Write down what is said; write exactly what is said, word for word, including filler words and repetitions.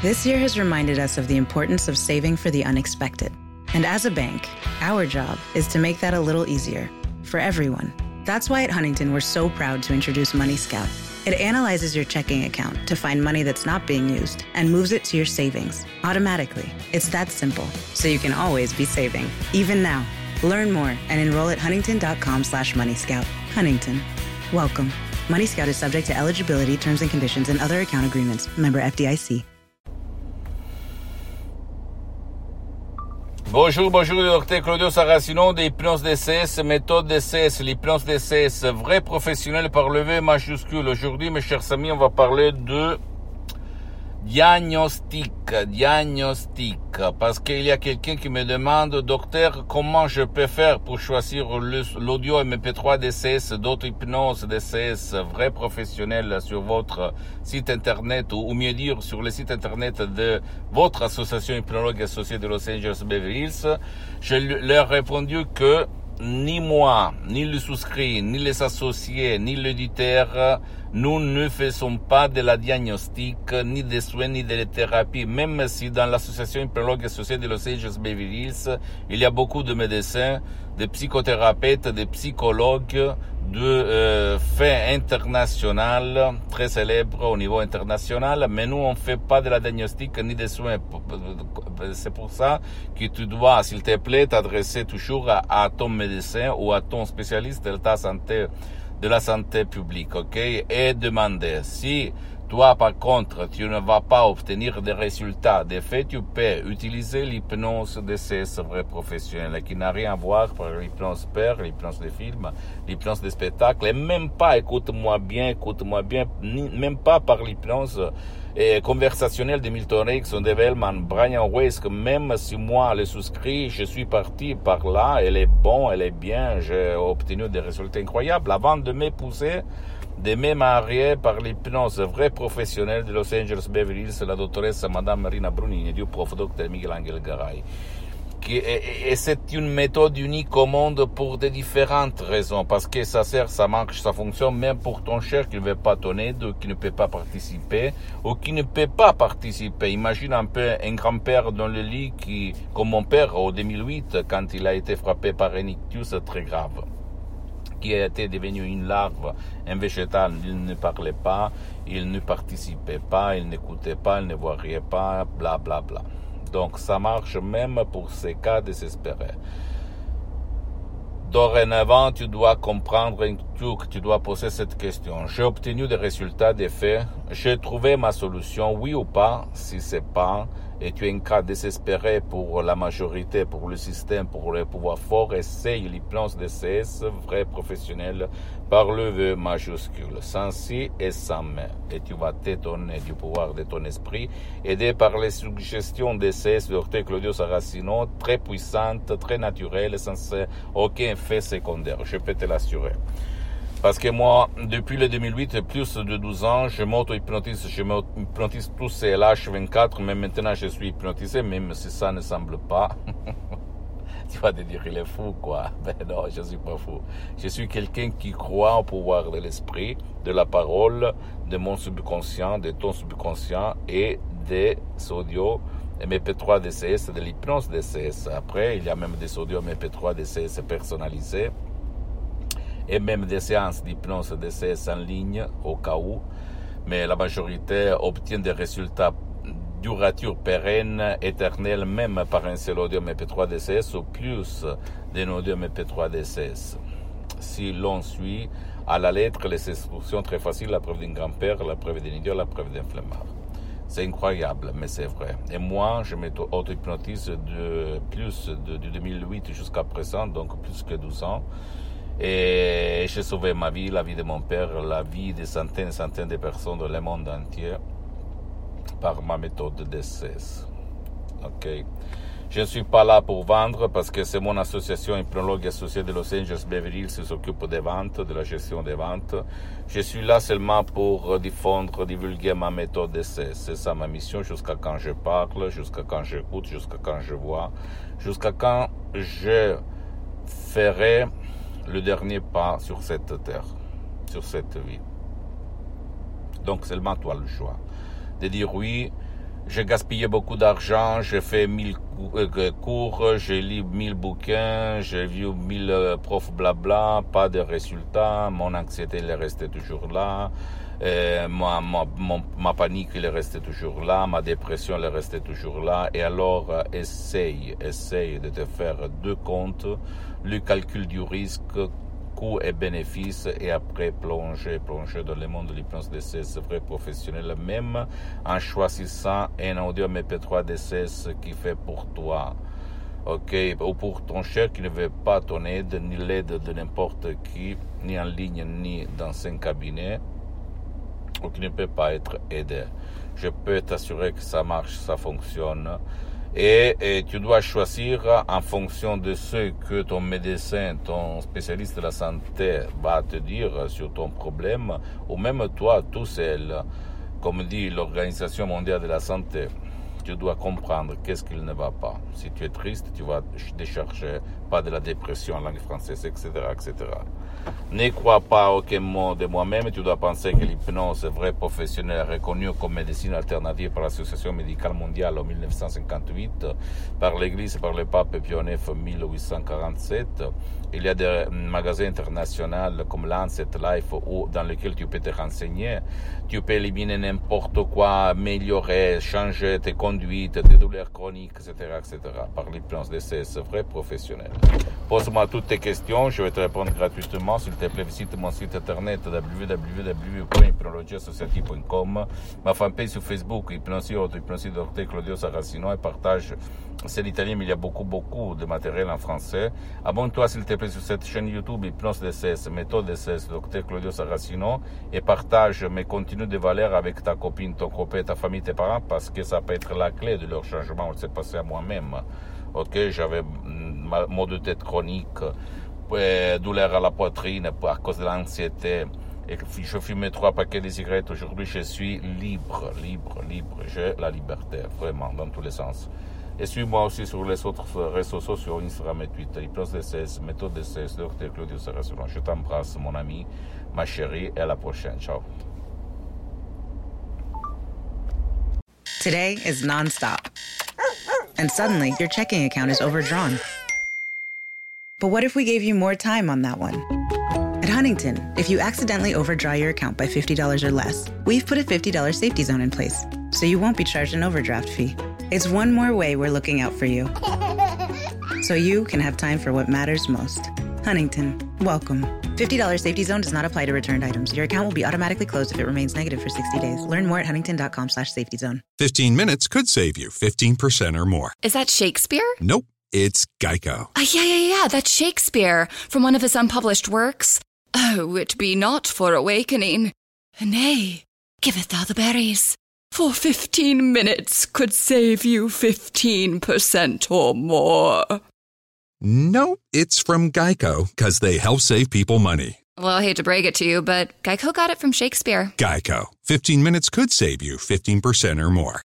This year has reminded us of the importance of saving for the unexpected. And as a bank, our job is to make that a little easier for everyone. That's why at Huntington, we're so proud to introduce Money Scout. It analyzes your checking account to find money that's not being used and moves it to your savings automatically. It's that simple, so you can always be saving, even now. Learn more and enroll at huntington.com slash Money Scout. Huntington. Welcome. Money Scout is subject to eligibility, terms and conditions, and other account agreements. Member F D I C. Bonjour, bonjour, le docteur Claudio Saracino de Hypnose D C S, méthode D C S, l'hypnose D C S, vrai professionnel par le V majuscule. Aujourd'hui, mes chers amis, on va parler de diagnostic, diagnostic, parce qu'il y a quelqu'un qui me demande, docteur, comment je peux faire pour choisir l'audio M P trois D C S, d'autres hypnoses D C S, vrai professionnel sur votre site internet, ou mieux dire, sur le site internet de votre association hypnologue associée de Los Angeles Beverly Hills. Je leur ai répondu que ni moi, ni le souscrit, ni les associés, ni l'éditeur, nous ne faisons pas de la diagnostic, ni des soins, ni de la thérapie, même si dans l'association hypnologue associée de Los Angeles Beverly Hills, il y a beaucoup de médecins, de psychothérapeutes, de psychologues, de euh, faits international, très célèbres au niveau international, mais nous on fait pas de la diagnostic ni des soins. C'est pour ça que tu dois, s'il te plaît, t'adresser toujours à, à ton médecin ou à ton spécialiste de ta santé, de la santé publique, ok? Et demander si toi, par contre, tu ne vas pas obtenir des résultats. De fait, tu peux utiliser l'hypnose D C S vrai professionnel, qui n'a rien à voir avec l'hypnose père, l'hypnose de film, l'hypnose de spectacle, et même pas, écoute-moi bien, écoute-moi bien, ni, même pas par l'hypnose eh, conversationnelle de Milton Erickson, de Bellman, Brian Weiss, que même si moi, le souscrit, je suis parti par là, elle est bon, elle est bien, j'ai obtenu des résultats incroyables. Avant de m'épouser, de me marier par l'hypnose vrai professionnelle de Los Angeles Beverly Hills, la dottoressa Madame Marina Brunini du prof docteur Miguel Angel Garay. Qui est, et c'est une méthode unique au monde pour de différentes raisons, parce que ça sert, ça marche, ça fonctionne même pour ton cher qui ne veut pas ton aide, qui ne peut pas participer, ou qui ne peut pas participer. Imagine un peu un grand-père dans le lit qui, comme mon père en deux mille huit, quand il a été frappé par un ictus très grave, qui était devenu une larve, un végétal, il ne parlait pas, il ne participait pas, il n'écoutait pas, il ne voyait pas, bla bla bla. Donc ça marche même pour ces cas désespérés. Dorénavant, tu dois comprendre que tu dois poser cette question. J'ai obtenu des résultats, des faits. J'ai trouvé ma solution, oui ou pas. Si c'est pas, et tu es un cas désespéré pour la majorité, pour le système, pour le pouvoir fort, essaye l'hypnose D C S, vrai professionnel, par le V majuscule, sans si et sans mais. Et tu vas t'étonner du pouvoir de ton esprit, aidé par les suggestions D C S de docteur Claudio Saracino, très puissantes, très naturelles, sans aucun fait secondaire, je peux te l'assurer. Parce que moi, depuis le deux mille huit, plus de douze ans, je m'auto-hypnotise, je m'auto-hypnotise tous ces H vingt-quatre, mais maintenant je suis hypnotisé, même si ça ne semble pas. Tu vas te dire, il est fou, quoi. Ben non, je suis pas fou. Je suis quelqu'un qui croit au pouvoir de l'esprit, de la parole, de mon subconscient, de ton subconscient et des audios M P trois D C S, de l'hypnose D C S. Après, il y a même des audios M P trois D C S personnalisés, et même des séances d'hypnose D C S en ligne au cas où, mais la majorité obtient des résultats durature pérenne, éternelle, même par un seul audio M P trois D C S ou plus d'un audio M P trois D C S. Si l'on suit à la lettre les instructions très faciles, la preuve d'un grand-père, la preuve d'un idiot, la preuve d'un flemmard. C'est incroyable, mais c'est vrai. Et moi, je m'auto-hypnotise de plus de, de deux mille huit jusqu'à présent, donc plus que douze ans. Et j'ai sauvé ma vie, la vie de mon père, la vie de centaines et centaines de personnes dans le monde entier par ma méthode D C S. Ok. Je ne suis pas là pour vendre parce que c'est mon association hypnologue associée de Los Angeles Beverly Hills qui s'occupe des ventes, de la gestion des ventes. Je suis là seulement pour diffondre, divulguer ma méthode D C S. C'est ça ma mission jusqu'à quand je parle, jusqu'à quand j'écoute, jusqu'à quand je vois, jusqu'à quand je ferai le dernier pas sur cette terre, sur cette vie. Donc seulement toi le choix de dire oui, j'ai gaspillé beaucoup d'argent, j'ai fait mille cours, j'ai lu mille bouquins, j'ai vu mille profs blabla, pas de résultats, mon anxiété elle est restée toujours là, euh, ma, ma, mon, ma panique elle est restée toujours là, ma dépression elle est restée toujours là, et alors euh, essaye, essaye de te faire deux comptes, le calcul du risque, coûts et bénéfices, et après plonger, plonger dans le monde de l'hypnose D C S vrai professionnel, même en choisissant un audio M P trois D C S qui fait pour toi, ok, ou pour ton cher qui ne veut pas ton aide, ni l'aide de n'importe qui, ni en ligne, ni dans un cabinet, ou qui ne peut pas être aidé. Je peux t'assurer que ça marche, ça fonctionne. Et, et tu dois choisir en fonction de ce que ton médecin, ton spécialiste de la santé va te dire sur ton problème, ou même toi tout seul, comme dit l'Organisation mondiale de la santé. Tu dois comprendre qu'est-ce qu'il ne va pas. Si tu es triste, tu vas décharger pas de la dépression en langue française, et cetera, et cetera. Ne crois pas aucun mot de moi-même. Tu dois penser que l'hypnose vrai professionnelle reconnue comme médecine alternative par l'Association médicale mondiale en dix-neuf cent cinquante-huit, par l'Église et par le pape Pie neuf en mille huit cent quarante-sept. Il y a des magasins internationaux comme Lancet, Life, où, dans lesquels tu peux te renseigner. Tu peux éliminer n'importe quoi, améliorer, changer tes conduites, tes douleurs chroniques, et cetera, et cetera, par l'hypnose D C S vrai professionnel. Pose-moi toutes tes questions, je vais te répondre gratuitement. S'il te plaît, visite mon site internet w w w point hypnologie associative point com, ma fanpage sur Facebook, Hypnosie Auto, Hypnosie Docteur Claudio Saracino, et partage, c'est l'italien, mais il y a beaucoup, beaucoup de matériel en français. Abonne-toi, s'il te plaît, sur cette chaîne YouTube, Hypnose D C S, Méthode D C S, Docteur Claudio Saracino, et partage mes contenus de valeur avec ta copine, ton copain, ta famille, tes parents, parce que ça peut être la clé de leur changement. On s'est passé à moi-même. Ok, j'avais mal de tête chronique, douleur à la poitrine à cause de l'anxiété, et je fumais trois paquets de cigarettes. Aujourd'hui, je suis libre, libre, libre. J'ai la liberté, vraiment, dans tous les sens. Et suis-moi aussi sur les autres réseaux sociaux, Instagram et Twitter, Hypnose D C S, Méthode D C S, Docteur Claudio Saracino. Je t'embrasse, mon ami, ma chérie, et à la prochaine. Ciao. Today is nonstop. And suddenly, your checking account is overdrawn. But what if we gave you more time on that one? At Huntington, if you accidentally overdraw your account by fifty dollars or less, we've put a fifty dollars safety zone in place, so you won't be charged an overdraft fee. It's one more way we're looking out for you, so you can have time for what matters most. Huntington, welcome. fifty dollars safety zone does not apply to returned items. Your account will be automatically closed if it remains negative for sixty days. Learn more at huntington.com slash safety zone. fifteen minutes could save you fifteen percent or more. Is that Shakespeare? Nope, it's Geico. Uh, yeah, yeah, yeah, that's Shakespeare from one of his unpublished works. Oh, it be not for awakening. Nay, giveth thou the berries. For fifteen minutes could save you fifteen percent or more. No, it's from Geico, because they help save people money. Well, I hate to break it to you, but Geico got it from Shakespeare. Geico. fifteen minutes could save you fifteen percent or more.